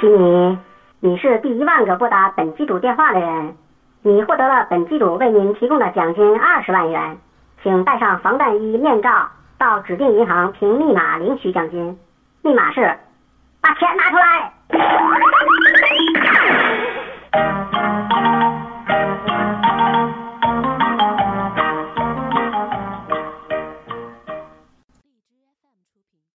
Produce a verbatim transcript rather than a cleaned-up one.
喜你，你是第一万个拨打本机主电话的人，你获得了本机主为您提供的奖金二十万元，请带上防弹衣面罩到指定银行凭密码领取奖金，密码是把钱拿出来。